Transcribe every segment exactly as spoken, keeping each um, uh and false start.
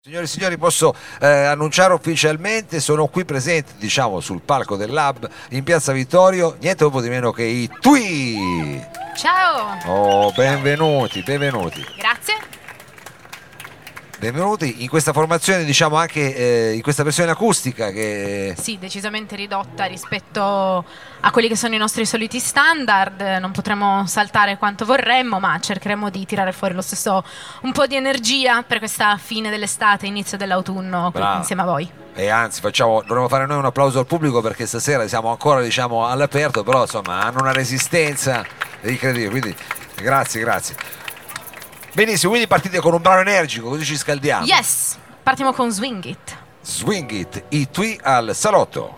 Signori e signori, posso eh, annunciare ufficialmente, sono qui presenti, diciamo, sul palco del Lab in Piazza Vittorio, niente poco di meno che i Twi! Ciao! Oh, benvenuti, benvenuti. Grazie. Benvenuti in questa formazione, diciamo anche eh, in questa versione acustica che... Sì, decisamente ridotta rispetto a quelli che sono i nostri soliti standard. Non potremo saltare quanto vorremmo, ma cercheremo di tirare fuori lo stesso un po' di energia per questa fine dell'estate, inizio dell'autunno, qui insieme a voi. E anzi, facciamo, dovremmo fare noi un applauso al pubblico perché stasera siamo ancora, diciamo, all'aperto, però insomma hanno una resistenza incredibile, quindi grazie, grazie. Benissimo, quindi partite con un brano energico, così ci scaldiamo. Yes, partiamo con Swing It. Swing It, i Twi al salotto.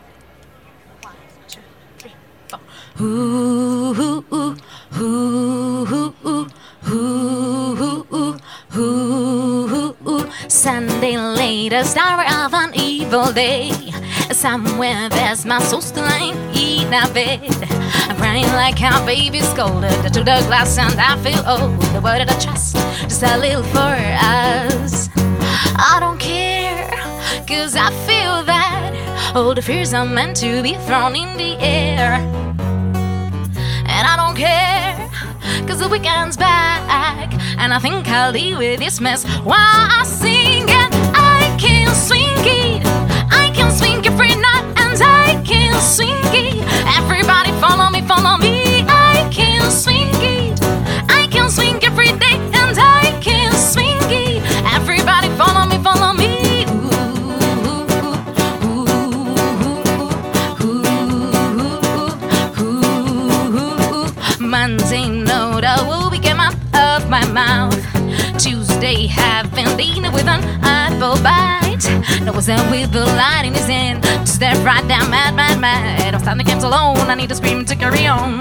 Ooh, ooh, ooh, ooh, ooh, ooh, ooh, ooh, ooh. Sunday later, star of an evil day. Somewhere there's my soul still lying in a bed. I'm crying like a baby scolded to the glass, and I feel old. What did I trust? Just a little for us. I don't care, cause I feel that all the fears are meant to be thrown in the air. And I don't care, cause the weekend's back, and I think I'll deal with this mess while I sing. And I can swing it, I can swing every night, and I can swing it. Everybody follow me, follow me. I can swing it, I can swing every day, and I can swing it. Everybody follow me, follow me. Monday note, I will be came out of my mouth. Tuesday, having dinner with an apple bite. No was there with the light in his hand to stare right down, mad, mad, mad. I'm starting to get alone, I need to scream to carry on.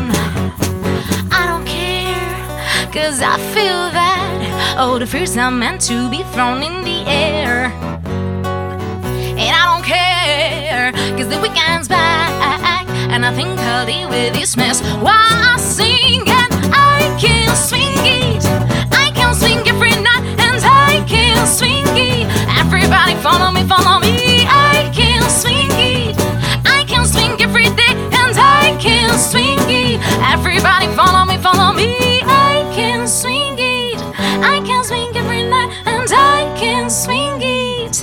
I don't care, cause I feel that all the fears are meant to be thrown in the air. And I don't care, cause the weekend's back, and I think I'll deal with this mess while I sing. And I can swing it, I can swing every night, and I can swing it. Everybody follow me, follow me. I can swing it, I can swing every day, and I can swing it. Everybody follow me, follow me. I can swing it, I can swing every night, and I can swing it.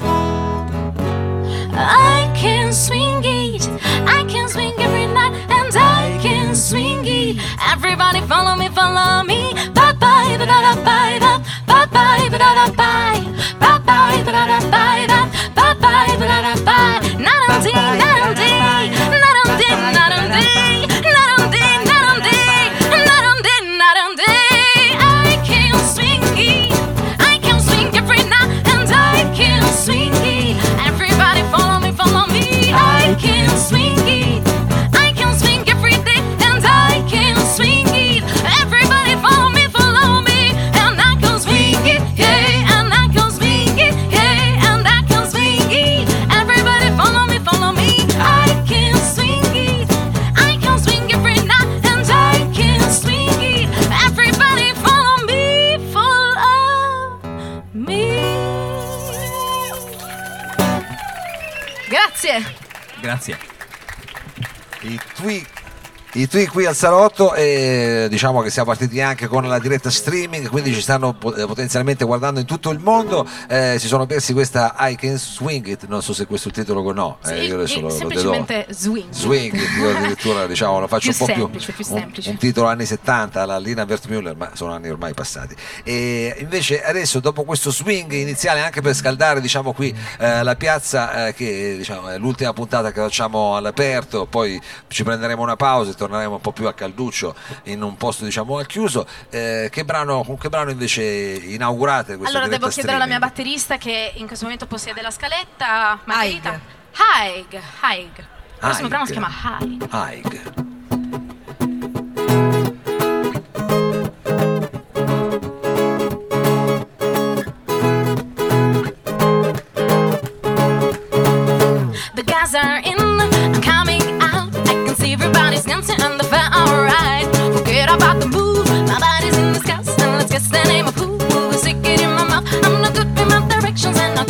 I can swing it, I can swing every night, and I can swing it. Everybody follow me, follow me. Bye bye, ba da da bye da. Bye bye, ba da da bye. Bye bye, ba da da bye da. Bye bye, ba da da bye. Not on day, not on day, not on day, not on day, not on day, not on day, not on day, not on day. I can swing it, I can swing every night, and I can swing it. Everybody follow me, follow me. I can swing it, I can swing every day, and I can swing it. Everybody follow me, follow me, and I can swing it, yeah, and I can swing it, yeah, and I can swing it. Everybody follow me, follow me. I can swing it, I can swing every night, and I can swing it. Everybody follow me, follow me. Grazie. Grazie. I Twi, i Twi qui al salotto, e diciamo che siamo partiti anche con la diretta streaming, quindi ci stanno potenzialmente guardando in tutto il mondo. Eh, si sono persi questa I Can Swing It, non so se questo è il titolo o no. Sì, eh, io adesso lo, semplicemente lo swing. Swing It, io addirittura diciamo lo faccio Più un po' semplice, più, più un, semplice. un titolo anni settanta alla Lina Wertmüller, ma sono anni ormai passati. E invece adesso, dopo questo swing iniziale, anche per scaldare, diciamo, qui eh, la piazza, eh, che diciamo è l'ultima puntata che facciamo all'aperto, poi ci prenderemo una pausa e torneremo un po' più a calduccio in un posto, diciamo, al chiuso. Eh, che brano, con che brano invece inaugurate questa Allora devo diretta chiedere alla mia streaming? batterista, che in questo momento possiede la scaletta. Margherita. Haig. Haig. Il prossimo brano si chiama Haig. Haig. The guys are in, I'm coming out. I can see everybody's dancing on the fair, alright. Forget about the move, my body's in disgust, and let's guess the name of who was sick in my mouth. I'm not good with my directions, and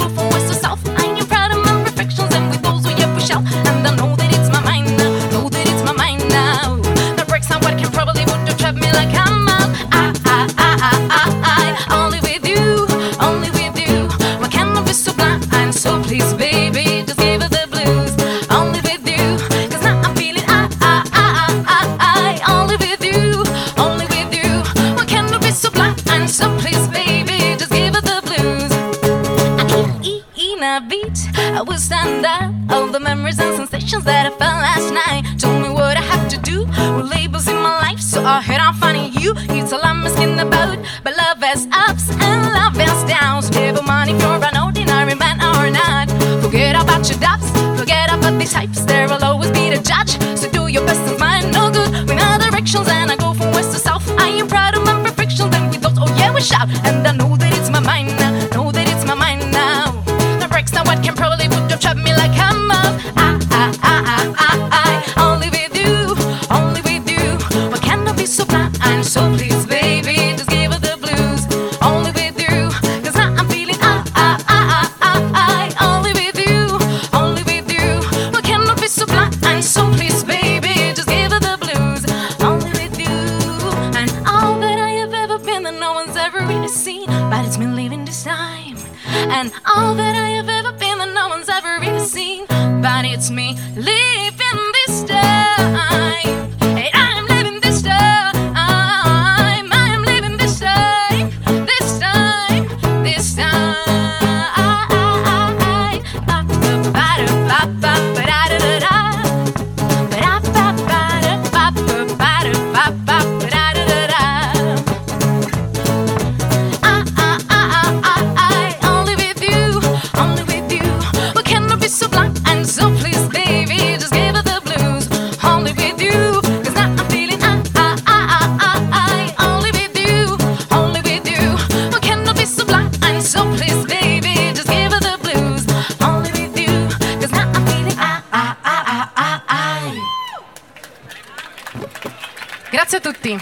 beat, I will stand up. All the memories and sensations that I felt last night told me what I have to do with labels in my life, so I head on finding you. It's all I'm asking about, but love has ups and love has downs. Give money for an ordinary man or not. Forget about your doubts, forget about the types. There will always be the judge, so do your best and find no good with my directions. And I go from west to south. I am proud of my perfection. Then we thought, oh yeah, we shout. And I know that it's my mind now, know that it's my mind now. The breaks now what can probably would have trapped me like I'm up. I, I, I, I, I, I, only with you, only with you. Why can't I be so blind? I'm so pleased, baby, just give her the blues. Only with you, cause now I'm feeling I, I, I, I, I, I, only with you, only with you. Why can't I be so blind? I'm so pleased, baby, just give her the blues. Only with you, and all that I have ever been that no one's ever really seen, but it's me living this time. And all that I have ever been that no one's ever really seen, but it's me living this time. Hey, I'm living this time. I'm living this time. This time. This time. Only with you, only with you. What can I be so blind and so pleased, baby? Just give her the blues. Only with you, cause now I'm feeling I, I, I, I, I. Only with you, only with you. What can I be so blind and so pleased, baby? Just give her the blues. Only with you, cause now I'm feeling I, I, I, I, I, I. Grazie a tutti.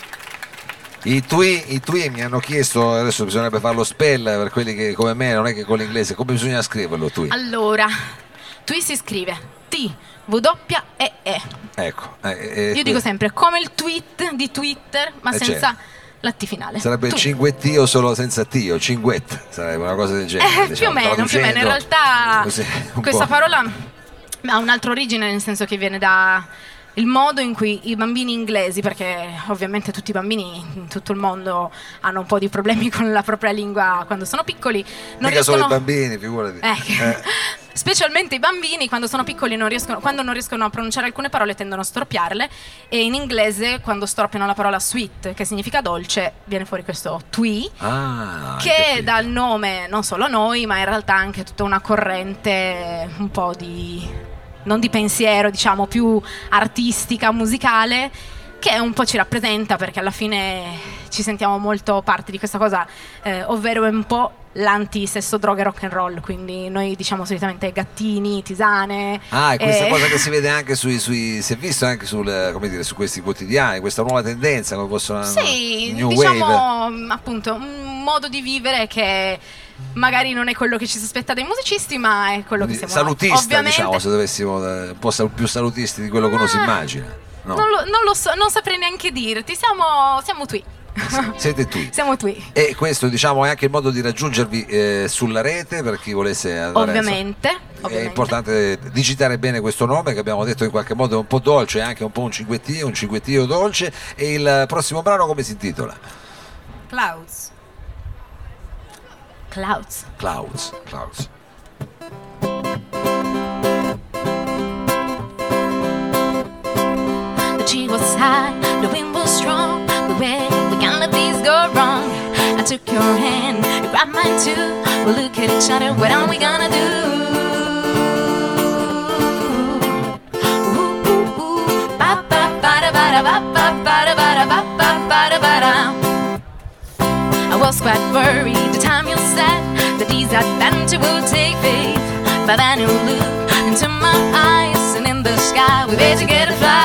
I Tui, I Tui mi hanno chiesto, adesso bisognerebbe farlo spell per quelli che come me non è che con l'inglese, come bisogna scriverlo Tui? Allora, Tui si scrive T W E E. Ecco. Eh, eh, Io dico sempre come il tweet di Twitter, ma Eh, senza certo. la T finale. Sarebbe il Tui. cinguettio solo senza T, o cinguet, sarebbe una cosa del genere. Eh, più o diciamo, meno, più o meno. In traducendo realtà così, un questa po'. parola ha un'altra origine, nel senso che viene da il modo in cui i bambini inglesi, perché ovviamente tutti i bambini in tutto il mondo hanno un po' di problemi con la propria lingua quando sono piccoli, non Mica solo riescono... i bambini, figurati. Eh, Eh. Specialmente i bambini quando sono piccoli non riescono, quando non riescono a pronunciare alcune parole tendono a storpiarle, e in inglese quando storpiano la parola sweet, che significa dolce, viene fuori questo twee, Ah, hai che capito. dà il nome non solo a noi, ma in realtà anche tutta una corrente un po' di, non di pensiero, diciamo più artistica, musicale, che un po' ci rappresenta, perché alla fine ci sentiamo molto parte di questa cosa, eh, ovvero è un po' l'anti-sesso, droga e rock and roll, quindi noi diciamo solitamente gattini, tisane. Ah, è questa eh, cosa che si vede anche sui, sui si è visto anche sul, come dire, su questi quotidiani, questa nuova tendenza, come possono Sì, New diciamo Wave. appunto un modo di vivere che magari non è quello che ci si aspetta dai musicisti, ma è quello che Quindi siamo noi. salutista, Ovviamente, diciamo, se dovessimo eh, un po' sal- più salutisti di quello che uno si Ah, immagina. No. Non, lo, non lo so, non saprei neanche dirti, siamo, siamo qui. Siete tu. Siamo qui. E questo diciamo è anche il modo di raggiungervi eh, sulla rete per chi volesse andare. Ovviamente, È ovviamente. importante digitare bene questo nome che abbiamo detto in qualche modo è un po' dolce, è anche un po' un cinguettio, un cinguettio dolce. E il prossimo brano come si intitola? Clouds. Clouds. Clouds. Clouds. The tree was high, the wind was strong, but where we can't let these go wrong. I took your hand, you grabbed mine too. We'll look at each other, what are we gonna do? Ooh, ooh, ooh. Ba, ba, ba, da, ba, da, ba, ba, ba, da, ba, da, ba, ba, ba, da, ba, da. I was quite worried the time you said that these adventures will take faith. But then you look into my eyes, and in the sky we bet you get a fly.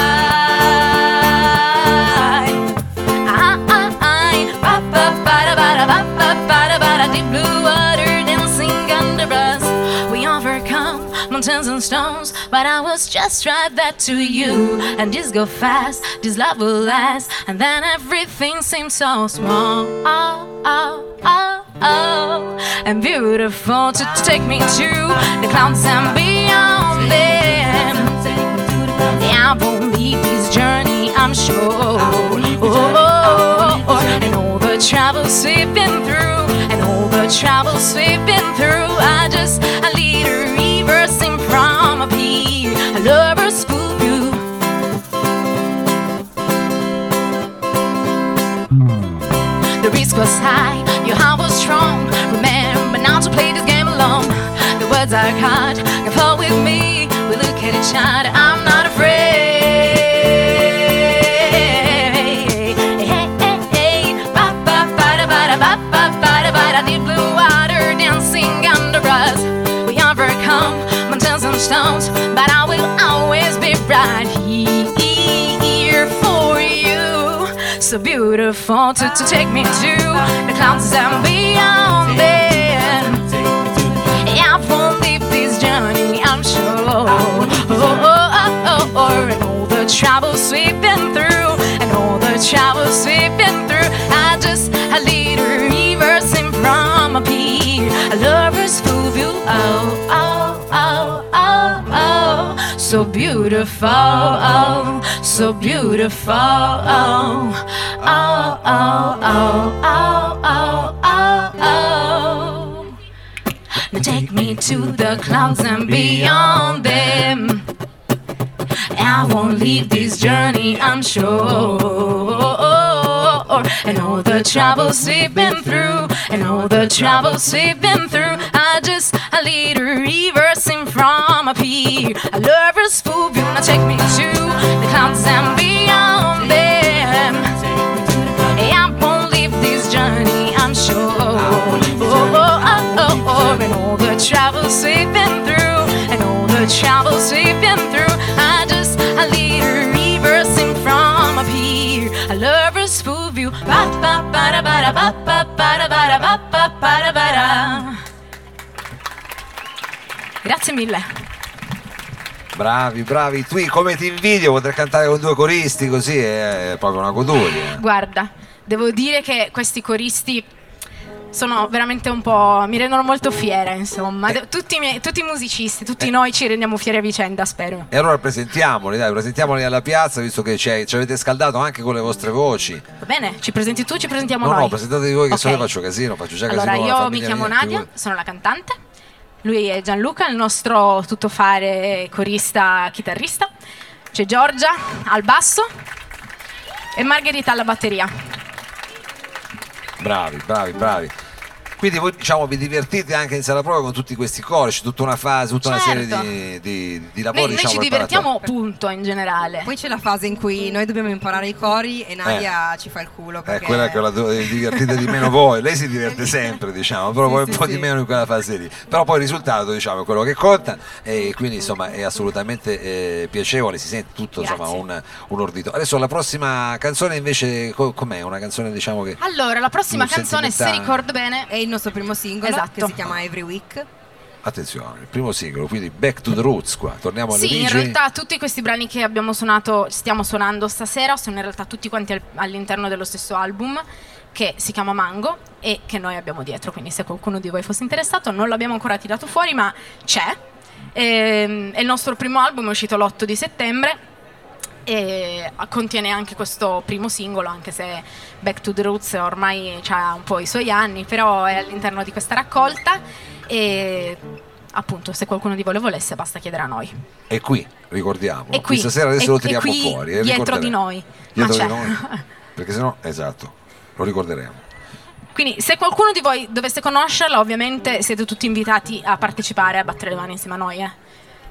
I, I, I, ba, ba, ba, da, ba, da, ba, ba, ba, da, ba, da, deep blue water dancing under us. We overcome mountains and stones, but I was just right that to you. And this go fast, this love will last, and then everything seems so small. Oh, oh, oh, oh, and beautiful to, to take me to the clouds and beyond them. Yeah, I won't leave this journey, I'm sure. Oh, oh, oh, and all the troubles we've been through, and all the troubles we've been through, I just risk was high, your heart was strong. Remember not to play this game alone. The words are hard, can fall with me. We look at each other, I'm not afraid. Deep blue water dancing under us. We overcome mountains and stones, but I will always be right here for you. So beautiful to, to take me to the clouds and beyond them. I won't leave this journey, I'm sure. Oh, oh, oh, oh, oh. And all the troubles we've been through, and all the troubles we've been through, I just a little reversing from a pier. A lover's full view, oh, oh, oh, oh, oh. So beautiful, oh, so beautiful, oh, oh, oh, oh, oh, oh, oh, oh. Now take me to the clouds and beyond them. I won't leave this journey, I'm sure. And all the troubles we've been through, and all the troubles we've been through, I just a little reversing from a pier. A lover's full view, now take me to the clouds and beyond them. I won't leave this journey, I'm sure. Oh, oh, oh, oh, oh. And all the troubles we've been through, and all the troubles we've been through, I just a little reversing from a pier. A lover's full view. Ba ba ba ba ba ba ba ba ba ba ba ba. Grazie mille. Bravi, bravi. Tu come ti invidio poter cantare con due coristi così, è proprio una goduria. Guarda, devo dire che questi coristi sono veramente un po', mi rendono molto fiera, insomma. Eh. Tutti, i miei, tutti i musicisti, tutti eh. noi ci rendiamo fieri a vicenda, spero. E allora presentiamoli, dai, presentiamoli alla piazza, visto che ci avete scaldato anche con le vostre voci. Va bene, ci presenti tu, ci presentiamo no, noi. No, presentatevi voi che okay. se no faccio casino, faccio già allora, casino. Allora, io mi chiamo Nadia, sono la cantante. Lui è Gianluca, il nostro tuttofare corista, chitarrista. C'è Giorgia al basso e Margherita alla batteria. Bravi, bravi, bravi. Quindi voi, diciamo, vi divertite anche in sala prova con tutti questi cori, c'è tutta una fase, tutta certo. una serie di, di, di lavori. Noi, diciamo, noi ci divertiamo punto in generale. Poi c'è la fase in cui noi dobbiamo imparare i cori e Nadia eh. ci fa il culo. È quella che la divertite di meno voi, lei si diverte sempre, diciamo, però sì, poi sì, un po' sì. di meno in quella fase lì. Però poi il risultato, diciamo, è quello che conta e quindi insomma è assolutamente eh, piacevole, si sente tutto insomma un, un ordito. Adesso la prossima canzone invece com'è? Una canzone diciamo che... Allora, la prossima canzone, se ricordo bene, è il nostro primo singolo, esatto. che si chiama Every Week. Attenzione, il primo singolo, quindi Back to the Roots qua, torniamo alle sì, origini. Sì, in realtà tutti questi brani che abbiamo suonato, stiamo suonando stasera, sono in realtà tutti quanti al, all'interno dello stesso album che si chiama Mango e che noi abbiamo dietro, quindi se qualcuno di voi fosse interessato, non l'abbiamo ancora tirato fuori ma c'è. E, è il nostro primo album, è uscito l'otto di settembre e contiene anche questo primo singolo, anche se Back to the Roots ormai ha un po' i suoi anni, però è all'interno di questa raccolta e appunto se qualcuno di voi lo volesse basta chiedere a noi. E qui, ricordiamo, e qui, stasera adesso e, lo tiriamo e qui, fuori e dietro di noi, dietro ma di noi, perché sennò, esatto, lo ricorderemo. Quindi se qualcuno di voi dovesse conoscerla, ovviamente siete tutti invitati a partecipare, a battere le mani insieme a noi, eh.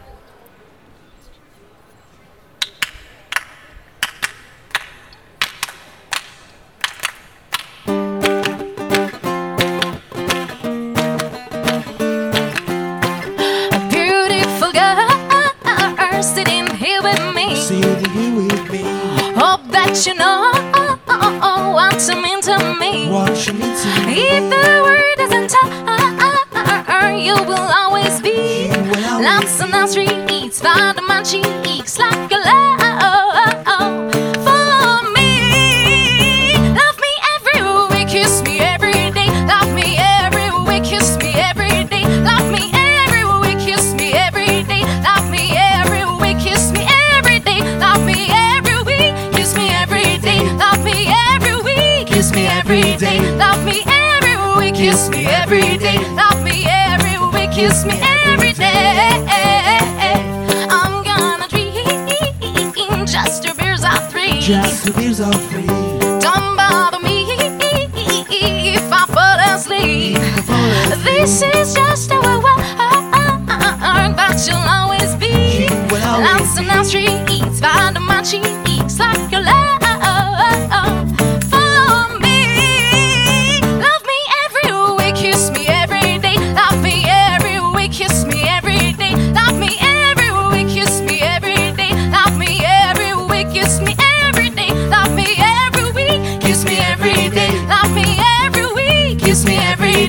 You know what you mean to me. If the word doesn't tire, you will always be. Lots and lots streets, find my cheeks like a love for me. Love me every week, kiss me every day. Love me every week, kiss me every day. Love me every week, kiss me every day. Love me every week, kiss me every day. Love me every week, kiss me every day. Love me every week, kiss me every day. Love me every week, kiss me every day. Love me every week, kiss me every day. I'm gonna dream just two beers or three. Just two beers or three. Don't bother me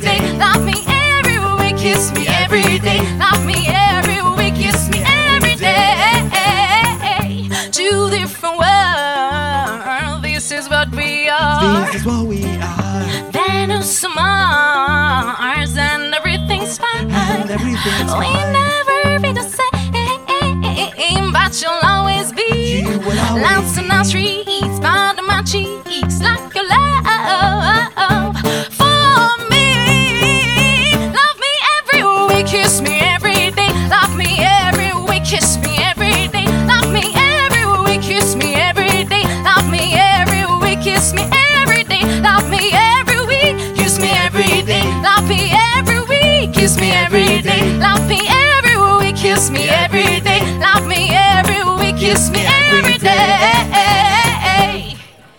day, love me every week, kiss me every day, love me every week, kiss me every day. Two different worlds, this is what we are. This is what we are. Venus and Mars and everything's fine. And everything's We fine. never be the same, but you'll always be. You will always Lights on our streets, part of my cheeks, like your love for me. Love me every week, kiss me every day. Love me every week, kiss me every day. Love me every week, kiss me every day. Love me every week, kiss me every day. Love me every week, kiss me every day. Love me every week, kiss me every day. Love me every week, kiss me every day. Love me every week, kiss me every day.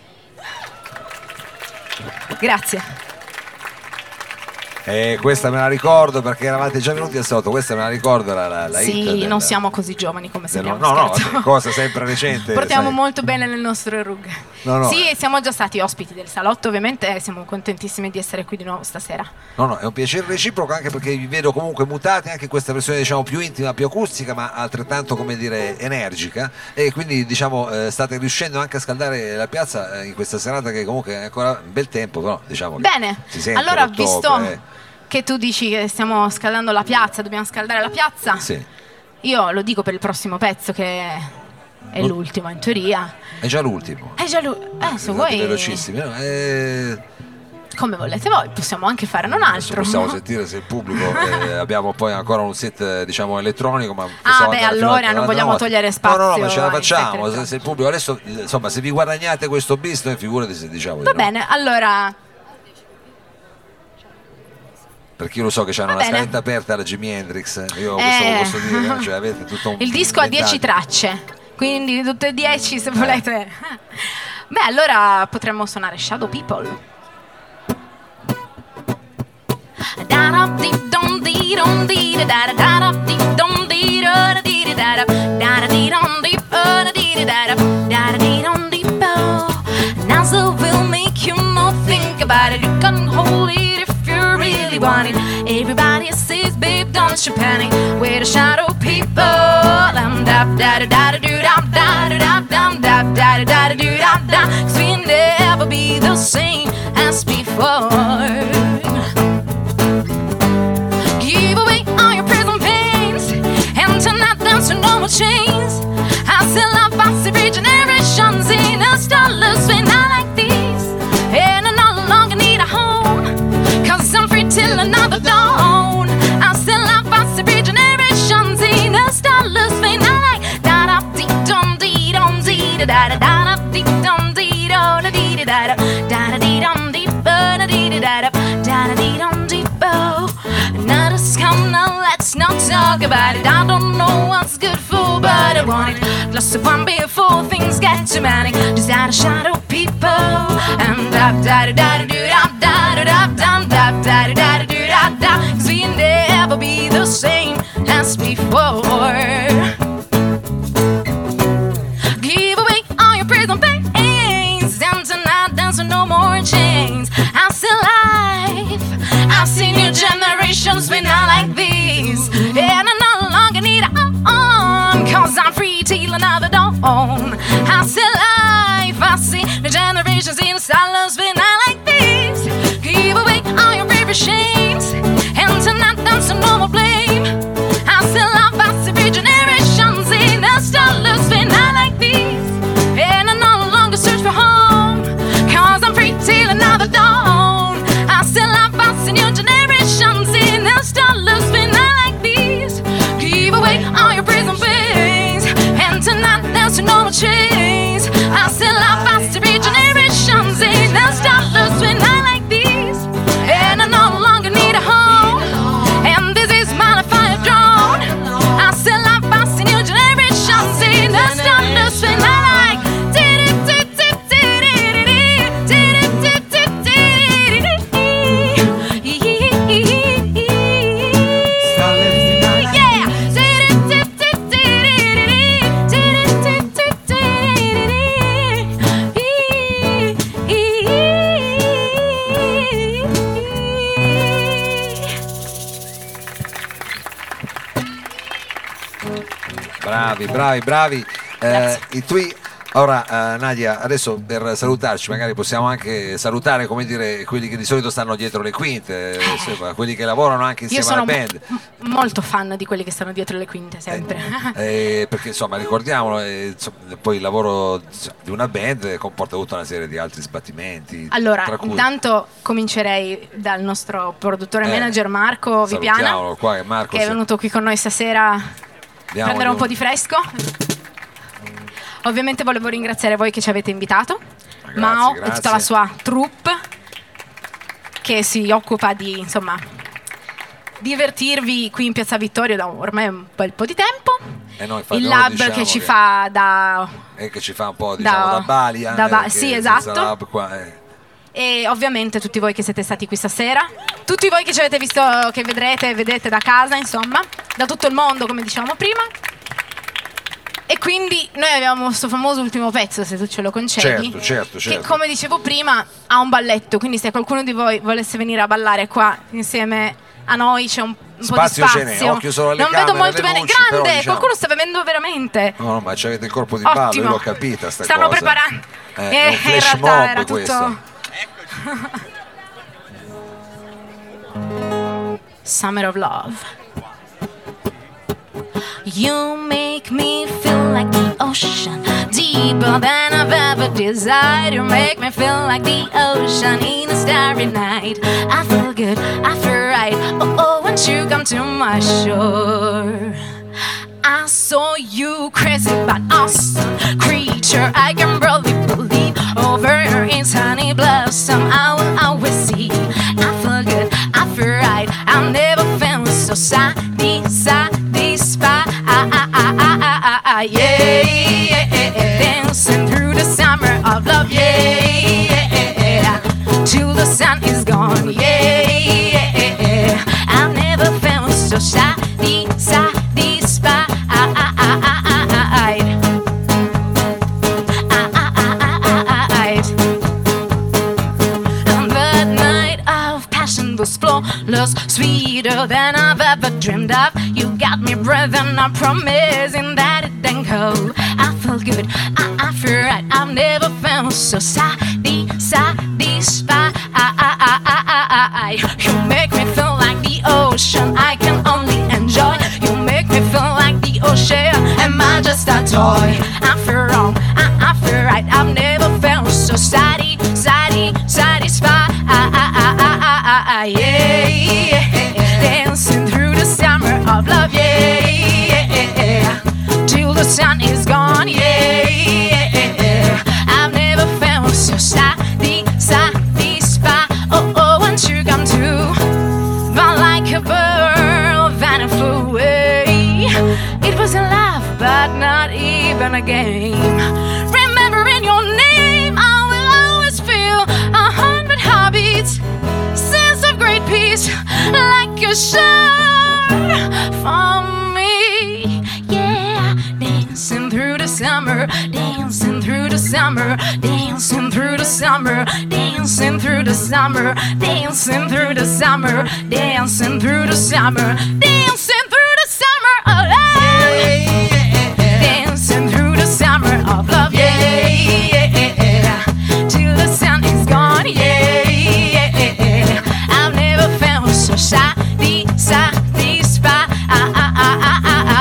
Grazie. E questa me la ricordo perché eravate già venuti al sotto, questa me la ricordo la, la, la hit Sì, del- non siamo così giovani come del- sembriamo. no, no, scherzo. cosa sempre recente. Portiamo sai. molto bene le nostre rughe. No, no. Sì, siamo già stati ospiti del salotto, ovviamente, e siamo contentissimi di essere qui di nuovo stasera. No, no, è un piacere reciproco anche perché vi vedo comunque mutati anche in questa versione diciamo più intima, più acustica, ma altrettanto come dire energica e quindi diciamo eh, state riuscendo anche a scaldare la piazza eh, in questa serata che comunque è ancora un bel tempo, però diciamo che Bene, si sente allora l'ottobre, visto eh. che tu dici che stiamo scaldando la piazza, dobbiamo scaldare la piazza, Sì, io lo dico per il prossimo pezzo che è Non- l'ultimo in teoria. è già l'ultimo. È già lui. Eh, se Andate vuoi, velocissimi, no? Eh, come volete voi, possiamo anche fare un adesso altro. possiamo sentire se il pubblico eh, abbiamo poi ancora un set eh, diciamo elettronico, ma Ah, possiamo beh, andare fino allora a- non no, vogliamo no, togliere no, no, spazio ma ce la ai facciamo set se, se il pubblico adesso insomma se vi guadagnate questo bis noi figurati se diciamo di Va no. bene, allora Perché io lo so che c'hanno Va una bene. scaletta aperta alla Jimi Hendrix, eh, io Eh. questo lo posso dire, cioè avete tutto un il disco ha dieci inventario. tracce, quindi tutte e dieci se volete. Beh, allora potremmo suonare Shadow People. Now will make you not think about it. You can hold it if you really want it. Everybody says, babe, don't you panic. We're the shadow people. Dum dum da da da da do dum da da da dum da da da da do dum da. 'Cause we'll never be the same as before. Give away all your prison pains and tonight dance to no more chains. I still love us every generations in a starless way, not like these. And I no longer need a home, 'cause I'm free till another dawn. I still love us every generations in a starless way, not like da da dee dum dee dum dee da da da da dee dum dee da da dee da da da da dee dum dee da da dee da da da da dee dum dee bo. Now just come now, let's not talk about it. I don't know what's good for, but I want it. Plus of one before things get too manic. Just out of shadow people. And da da da da do da da da da da da da da do da da. 'Cause we'll never be the same as before. Give away all your prison pains, and tonight there's no more chains. I'm still alive. I've seen new generations when I like these, and I no longer need a on, 'cause I'm free till another dawn. I'm still alive. I see new generations in silence when I like these. Give away all your favorite shames, and tonight there's no more blame. I'm still alive. I see new generations in a starless when I like these, and I no longer search for home, 'cause I'm free till another dawn. I still have us in new generations in a starless when I like these. Give away all your prison pains, and tonight there's no more chains. Bravi, bravi, bravi. Eh, i tuoi Ora uh, Nadia, adesso per salutarci magari possiamo anche salutare, come dire, quelli che di solito stanno dietro le quinte, eh, insomma, quelli che lavorano anche insieme alla band. Io sono m- molto fan di quelli che stanno dietro le quinte, sempre. Eh, eh, perché insomma ricordiamolo, eh, insomma, poi il lavoro di una band comporta tutta una serie di altri sbattimenti. Allora, tra cui... intanto comincerei dal nostro produttore eh, manager Marco Vipiana, qua, che, Marco, che è venuto qui con noi stasera a prendere un po' di fresco. Ovviamente volevo ringraziare voi che ci avete invitato, grazie, Mao grazie. e tutta la sua troupe che si occupa di, insomma, divertirvi qui in Piazza Vittorio da ormai un bel po' di tempo. E noi infatti, il noi lab diciamo che ci che fa da... E che ci fa un po', diciamo, da, da balia. da ba- eh, sì, esatto. Lab qua, eh. E ovviamente tutti voi che siete stati qui stasera, tutti voi che ci avete visto, che vedrete e vedete da casa, insomma, da tutto il mondo, come dicevamo prima. E quindi noi abbiamo questo famoso ultimo pezzo, se tu ce lo concedi, certo, certo, certo. che come dicevo prima ha un balletto, quindi se qualcuno di voi volesse venire a ballare qua insieme a noi c'è un, un spazio po' di ce n'è, spazio. occhio solo alle non camere, vedo molto alle bene, luci, grande, però, diciamo... qualcuno sta bevendo veramente. No, no, ma c'avete il corpo di Ottimo. ballo, io l'ho capita sta Stanno cosa. preparando. Eh, Eh, è un in flash realtà mob era tutto... questo. Summer of Love. You make me feel like the ocean, deeper than I've ever desired. You make me feel like the ocean in a starry night. I feel good, I feel right. Oh, oh, once you come to my shore. I saw you crazy but awesome creature. I can barely believe over in sunny blossom. I will always see. I feel good, I feel right. I've never felt so sad, satisfied. Yeah, yeah, yeah, dancing through the summer of love. Yeah, yeah, till the sun is gone. Yeah, yeah, I've never felt so sad, satisfied. And that night of passion was flawless, sweeter than I've ever dreamed of. You got me breathing, I'm promising that it didn't go. I feel good, I, I feel right. I've never felt so sadi, satisfied. You make me feel like the ocean, I can only enjoy. You make me feel like the ocean, am I just a toy? I feel wrong, I, I feel right. I've never felt so sadi, sadi, satisfied. Yeah, yeah, dancing through the summer of love. Yeah, yeah, till the sun is gone. Yeah, yeah, I've never felt so sadi, satisfied. Oh, oh, once you come to, but like a bird that flew away. It was a laugh, but not even a game. Remembering your name, I will always feel a hundred heartbeats. Sense of great peace, like a shore for me. Yeah, dancing through the summer, dancing through the summer, dancing through the summer, dancing through the summer, dancing through the summer, dancing through the summer, dancing through the summer of love, dancing through the summer of love. Yeah, yeah, till the sun is gone. Yeah, yeah, I've never felt so sadi, satisfied.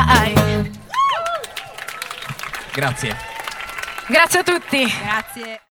Grazie. Grazie a tutti. Grazie.